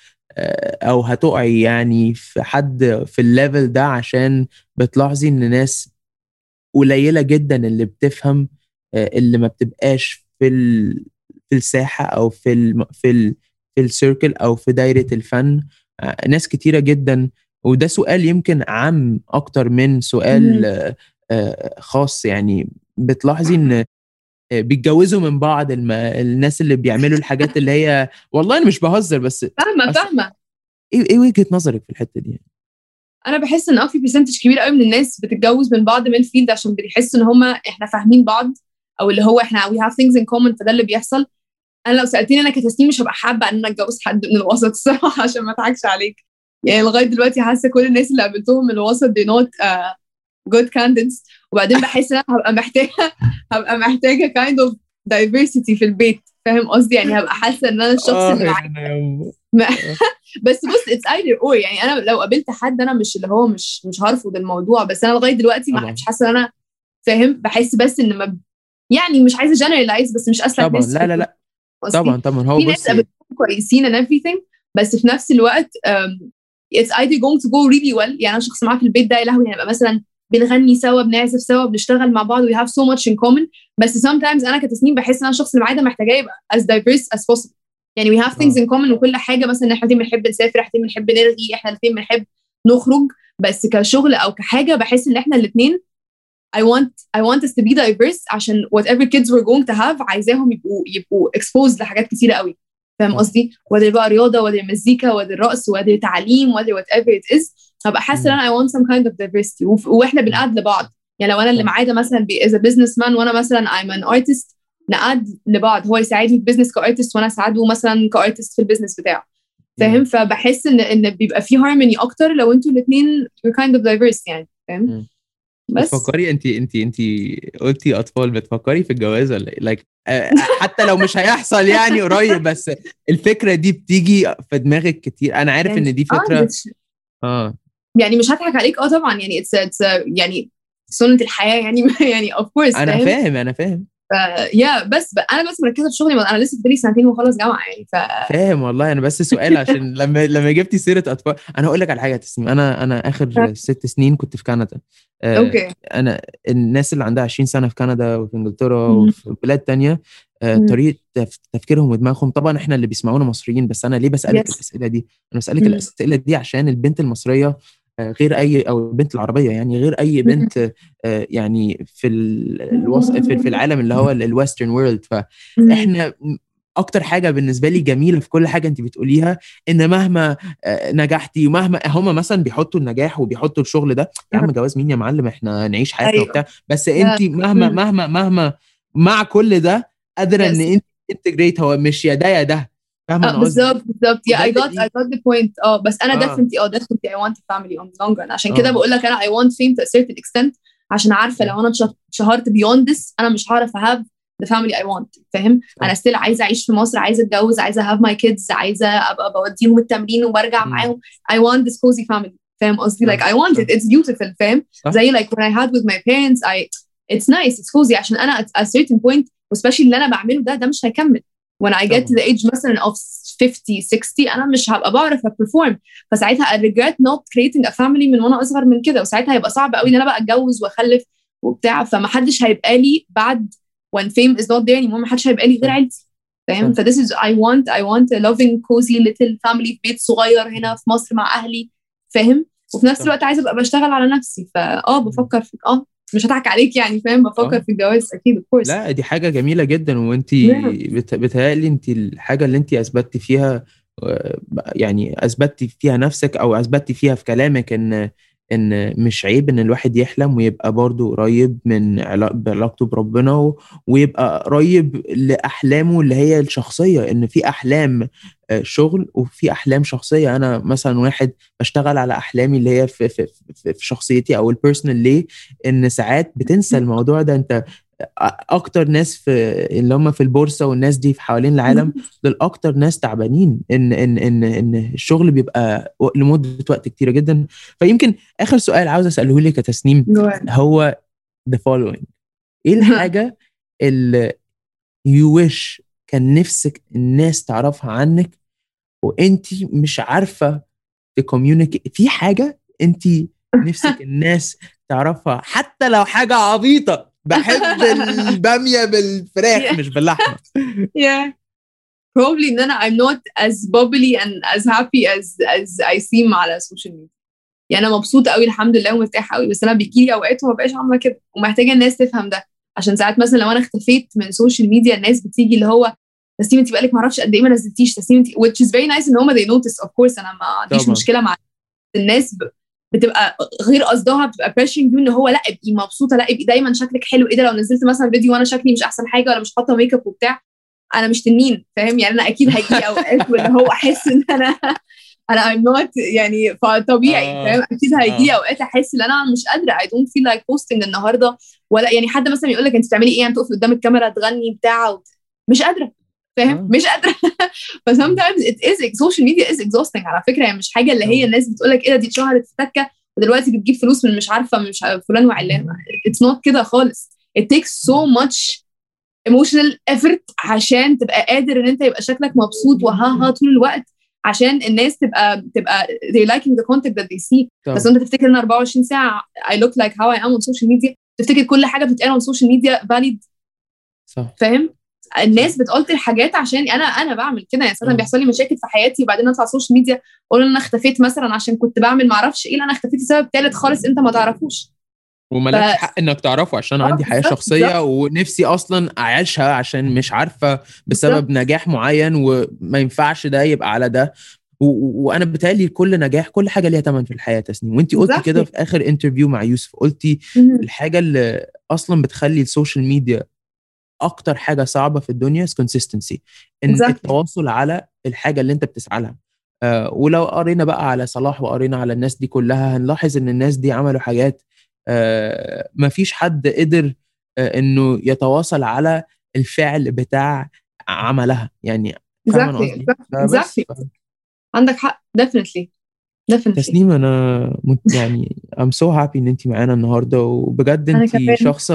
او هتقعي يعني في حد في الليفل ده عشان بتلاحظي ان ناس قليله جدا اللي بتفهم، اللي ما بتبقاش في ال... في الساحه او في ال... في ال... في السيركل او في دايره الفن، ناس كتيره جدا. وده سؤال يمكن عام اكتر من سؤال خاص، يعني بتلاحظي ان بيتجوزوا من بعض الم... الناس اللي بيعملوا الحاجات اللي هي والله انا مش بهزر بس فاهمه فاهمه ايه ايه وجهه نظرك في الحته دي؟ انا بحس ان اه في برسنتج كبير قوي من الناس بتتجوز من بعض من الفيلد عشان بيحسوا ان هم احنا فاهمين بعض او اللي هو احنا we have things in common فده اللي بيحصل. انا لو سالتني انا كتسنيم مش هبقى حابه ان انا اتجوز حد من الوسط الصراحه عشان ما اضحكش عليك يعني لغايه دلوقتي حاسه كل الناس اللي قابلتهم من الوسط دي نوت uh, good candidates. وبعدين بحس ان انا هبقى محتاجه هبقى محتاجه kind of diversity في البيت فاهم قصدي يعني هبقى حاسه ان انا الشخص اللي معايا بس بص it's either or يعني انا لو قابلت حد انا مش اللي هو مش مش هرفض الموضوع بس انا لغايه دلوقتي مش حاسه ان انا فاهم بحس بس ان ما يعني مش عايزه generalize بس مش اسلك طبعا لا لا لا طبعا طبعا هو في ناس قابلتهم كويسين and everything بس في نفس الوقت um, it's either going to go really well يعني انا شخص معاه في البيت ده يا لهوي هنبقى مثلا بنغني سوا بنعزف سوا بنشتغل مع بعض we have so much in common بس sometimes انا كتسنيم بحس ان انا الشخص اللي معايا ده محتاجاه يبقى as diverse as possible يعني we have things in common وكل حاجه مثلا احنا الاثنين بنحب نسافر احنا الاثنين بنحب نرغي احنا الاثنين بنحب نخرج بس كشغل او كحاجه بحس ان احنا الاثنين I want I want us to be diverse عشان whatever kids we're going to have عايزاهم يبقوا يبقوا exposed لحاجات كتيره قوي فاهم قصدي whether بقى رياضه whether مزيكا whether رقص whether تعليم whether whatever it is هبقى حاسه ان I want some kind of diversity واحنا بنقعد لبعض يعني لو انا اللي معايا ده مثلا as a businessman وانا مثلا I'm an artist نقعد لبعض هو يساعدني في البيزنس كارتست وانا اساعده مثلا كارتست في البيزنس بتاعه فاهم. فبحس ان ان بيبقى في هارموني اكتر لو انتوا الاثنين you're kind of diverse يعني فاهم. بس بتفكري انت انت انت قلتي اطفال بتفكري في الجواز ولا ايه like حتى لو مش هيحصل يعني قريب بس الفكره دي بتيجي في دماغك كتير انا عارف يعني ان دي فكره اه يعني مش هضحك عليك اه طبعا يعني it's, it's يعني سنه الحياه يعني يعني of course انا فاهم فاهم انا فاهم يا بس انا بس مركزه في شغلي انا لسه فاضلي سنتين وخلاص جامعه يعني ف فاهم والله انا بس سؤال عشان لما لما جبتي سيره اطفال انا هقول لك على حاجه تسمي انا انا اخر ست سنين كنت في كندا آه اوكي انا الناس اللي عندها عشرين سنه في كندا وفي انجلترا وفي بلاد تانية آه طريقه تفكيرهم ودماغهم طبعا احنا اللي بيسمعونا مصريين بس انا ليه بسالك yes. الاسئله دي انا بسالك مم. الاسئله دي عشان البنت المصريه غير اي او البنت العربيه يعني غير اي بنت يعني في الوسط في العالم اللي هو الويسترن وورلد. فاحنا اكتر حاجه بالنسبه لي جميله في كل حاجه انت بتقوليها ان مهما نجحتي ومهما هم مثلا بيحطوا النجاح وبيحطوا الشغل ده يا عم جواز مين يا معلم احنا نعيش حياتنا وبتاع بس انت مهما مهما مهما مع كل ده قادره ان انت انتجريت هو مش يا ده يا ده فاهمه اه بالظبط بالظبط يا I got I got the point اه بس انا آه. definitely اه definitely I want a family on the long run عشان آه. كده بقول لك انا I want fame to a certain extent عشان عارفه لو انا اتشهرت beyond this انا مش هعرف have the family I want فاهم. آه. انا still عايزه اعيش في مصر عايزه اتجوز عايزه have my kids عايزه ابقى بوديهم التمرين وبرجع م. معاهم I want this cozy family فاهم قصدي like I want it it's beautiful فاهم زي like when I had with my parents I it's nice it's cozy عشان انا at a certain point especially اللي انا بعمله ده ده مش هيكمل when I get to the age مثلا of fifty sixty أنا مش هبقى بعرف أperform فساعتها I regret not creating a family من وأنا أصغر من كده وساعتها هيبقى صعب قوي إن أنا بقى أتجوز وأخلف وبتاع فما حدش هيبقى لي بعد when fame is not there anymore ما حدش هيبقى لي غير عيلتي فاهم. ف this is I want I want a loving cozy little family في بيت صغير هنا في مصر مع أهلي، فاهم. وفي نفس الوقت عايزة أبقى بشتغل على نفسي، فآه بفكر في آه مش هضحك عليك يعني، فاهم، بفكر آه. في الجواز أكيد of course. لا دي حاجة جميلة جدا، وانت Yeah. بت... بتهيألي انت الحاجة اللي انت اثبتي فيها آه، يعني اثبتي فيها نفسك او اثبتي فيها في كلامك ان ان مش عيب ان الواحد يحلم ويبقى برضو قريب من علاق... بعلاقته بربنا و... ويبقى قريب لأحلامه اللي هي الشخصية، ان في احلام آه، شغل وفي احلام شخصية. انا مثلا واحد بشتغل على احلامي اللي هي في في في, في شخصيتي او البيرسونال، ليه ان ساعات بتنسى الموضوع ده. انت اكتر ناس في اللي هم في البورصه والناس دي في حوالين العالم دول اكتر ناس تعبانين، ان ان ان ان الشغل بيبقى لمده وقت كتيره جدا. فيمكن اخر سؤال عاوز اساله لك يا تسنيم Go ahead. هو the following: ايه الحاجه اللي you wish كان نفسك الناس تعرفها عنك وانت مش عارفه تكوميونيكيت في حاجه انت نفسك الناس تعرفها حتى لو حاجه عبيطه؟ بحب الباميه بالفراخ Yeah. مش باللحمه. Yeah. Probably ان انا I'm not as bubbly and as happy as as I seem على السوشيال ميديا. يعني انا مبسوطه قوي الحمد لله ومرتاحه قوي، بس انا بيجيلي اوقات وما بقاش عامله كده، ومحتاجه الناس تفهم ده. عشان ساعات مثلا لو انا اختفيت من السوشيال ميديا الناس بتيجي اللي هو تسنيم انت بقالك ما اعرفش قد ايه ما نزلتيش، تسنيم انت which is very nice ان هم they notice of course. انا ما عنديش طبعا. مشكله مع الناس ب... بتبقى غير قصدها، بتبقى pressuring you ان هو لا ابقي مبسوطه، لا ابقي دايما شكلك حلو، ايه ده لو نزلت مثلا فيديو وانا شكلي مش احسن حاجه ولا مش حاطه ميك اب وبتاع، انا مش تنين، فاهم يعني. انا اكيد هيجي اوقات واللي هو احس ان انا انا I'm not يعني فطبيعي، آه. فاهم. اكيد هيجي آه. اوقات احس ان انا مش قادره I don't feel like posting النهارده، ولا يعني حد مثلا يقول لك انت بتعملي ايه، انت تقفي قدام الكاميرا تغني بتاع و... مش قادره، فاهم. آه. مش قادره. ف sometimes it is social media is exhausting على فكره، يعني مش حاجه اللي هي الناس بتقول لك ايه ده دي اتشهرت في تكه ودلوقتي بتجيب فلوس من مش عارفه مش عارفة فلان وعلان. it's not كده خالص. it takes so much emotional effort عشان تبقى قادر ان انت يبقى شكلك مبسوط وها ها طول الوقت، عشان الناس تبقى تبقى they liking the content that they see. طبعا. بس انت تفتكر ان أربعة وعشرين ساعه I look like how I am on social media، تفتكر كل حاجه بتتقال on social media valid، صح. فاهم. الناس بتقلت الحاجات عشان انا انا بعمل كده يعني. ساعات بيحصل لي مشاكل في حياتي وبعدين اطلع السوشيال ميديا اقول ان انا اختفيت مثلا عشان كنت بعمل ما اعرفش ايه، انا اختفيت لسبب ثالث خالص انت ما تعرفوش، ومالكش ف... حق انك تعرفه عشان آه عندي حياه بالظبط شخصيه بالظبط ونفسي اصلا اعيشها عشان مش عارفه بسبب بالظبط. نجاح معين وما ينفعش ده يبقى على ده. و- و- وانا بتهيألي كل نجاح كل حاجه ليها ثمن في الحياه تسنيم، وانت قلتي كده Exactly. في اخر انترفيو مع يوسف، قلتي مهم. الحاجه اللي اصلا بتخلي السوشيال ميديا اكتر حاجه صعبه في الدنيا consistency، ان Exactly. التواصل على الحاجه اللي انت بتسعى لها. آه ولو قرينا بقى على صلاح وقرينا على الناس دي كلها هنلاحظ ان الناس دي عملوا حاجات آه ما فيش حد قدر آه انه يتواصل على الفعل بتاع عملها يعني. فاهم انا Exactly. قصدي؟ Exactly. فبس Exactly. عندك حق definitely definitely. تسنيم انا مت يعني I'm so happy ان انت معانا النهارده، وبجد انا انت كمان. شخصه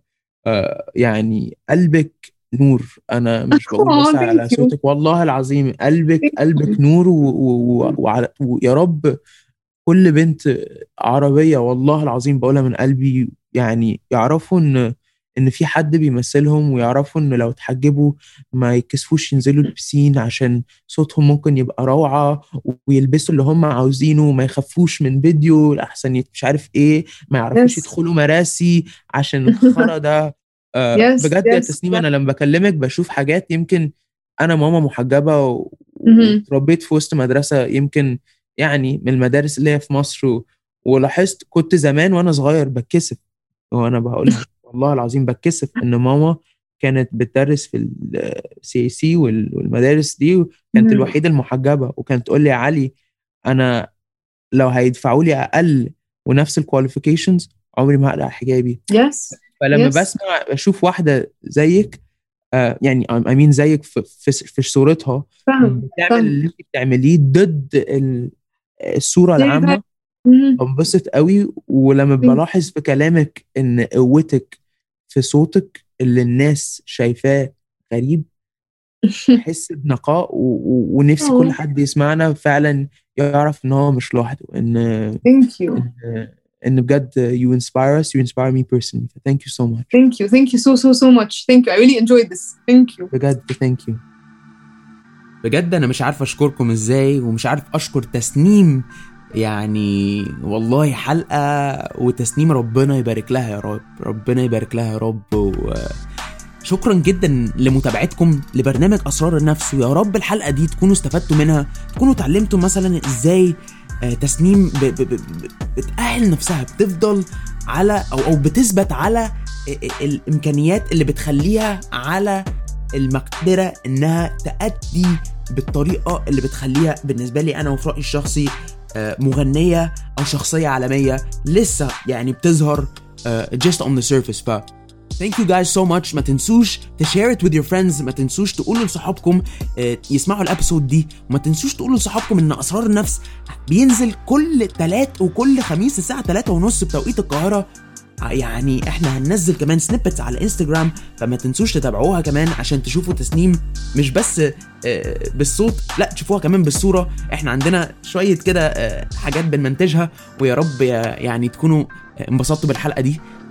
آه يعني قلبك نور. انا مش بقول Oh, بس على thank you. صوتك، والله العظيم قلبك Thank قلبك you. نور. و- و- وعلى ويا رب كل بنت عربيه والله العظيم بقولها من قلبي يعني يعرفوا ان ان في حد بيمثلهم، ويعرفوا ان لو اتحجبوا ما يكسفوش ينزلوا البسين عشان صوتهم ممكن يبقى روعة، ويلبسوا اللي هم عاوزينه وما يخافوش من فيديو لأحسن يت- مش عارف ايه، ما يعرفوش Yes. يدخلوا مراسي عشان الخرا ده. آه Yes. بجد يا Yes. تسنيم انا لما بكلمك بشوف حاجات. يمكن انا ماما محجبة و- مهم. وتربيت في وسط مدرسة يمكن يعني من المدارس اللي هي في مصر، و- ولاحظت كنت زمان وانا صغير بتكسف وانا بقولها والله العظيم بتكسف ان ماما كانت بتدرس في السي سي والمدارس دي، وكانت مهم. الوحيده المحجبه، وكانت تقول لي يا علي انا لو هيدفعوا لي اقل ونفس الكواليفيكيشنز عمري ما هقلع حجابي. Yes. فلما Yes. بسمع بشوف واحده زيك آه يعني امين زيك في في, في صورتها فاهم بتعمل فاهم. اللي انت بتعمليه ضد ال- الصوره العامه، مهم. بنبسط قوي. ولما بلاحظ في كلامك ان قوتك في صوتك اللي الناس شايفاه غريب، بحس بنقاء و... و... ونفسي كل Oh, حد يسمعنا فعلا يعرف ان هو مش لوحده، ان thank you. ان, إن بجد you inspire us, you inspire me personally. Thank you so much. Thank you. Thank you so so so much. Thank you. I really enjoyed this. Thank you. بجد thank you. بجد انا مش عارف اشكركم ازاي، ومش عارف اشكر تسنيم. يعني والله حلقة وتسنيم ربنا يبارك لها يا رب، ربنا يبارك لها يا رب. وشكرا جدا لمتابعتكم لبرنامج أسرار النفس، ويا رب الحلقة دي تكونوا استفدتوا منها، تكونوا تعلمتوا مثلا ازاي تسنيم ب- ب- ب- بتأهل نفسها، بتفضل على أو, أو بتثبت على الإمكانيات اللي بتخليها على المقدرة انها تأدي بالطريقة اللي بتخليها بالنسبة لي انا وفي رأيي الشخصي مغنية او شخصية عالمية لسه يعني بتظهر just on the surface. ف thank you guys so much. ما تنسوش to share it with your friends، ما تنسوش تقولوا لصحابكم يسمعوا الابيسود دي، وما تنسوش تقولوا لصحابكم ان اسرار النفس بينزل كل تلات وكل خميس الساعة تلاتة ونص بتوقيت القاهرة. يعني احنا هننزل كمان سنيبتس على الانستجرام، فما تنسوش تتابعوها كمان عشان تشوفوا تسنيم مش بس بالصوت، لا تشوفوها كمان بالصورة. احنا عندنا شوية كده حاجات بنمنتجها، ويا رب يعني تكونوا انبسطتوا بالحلقة دي.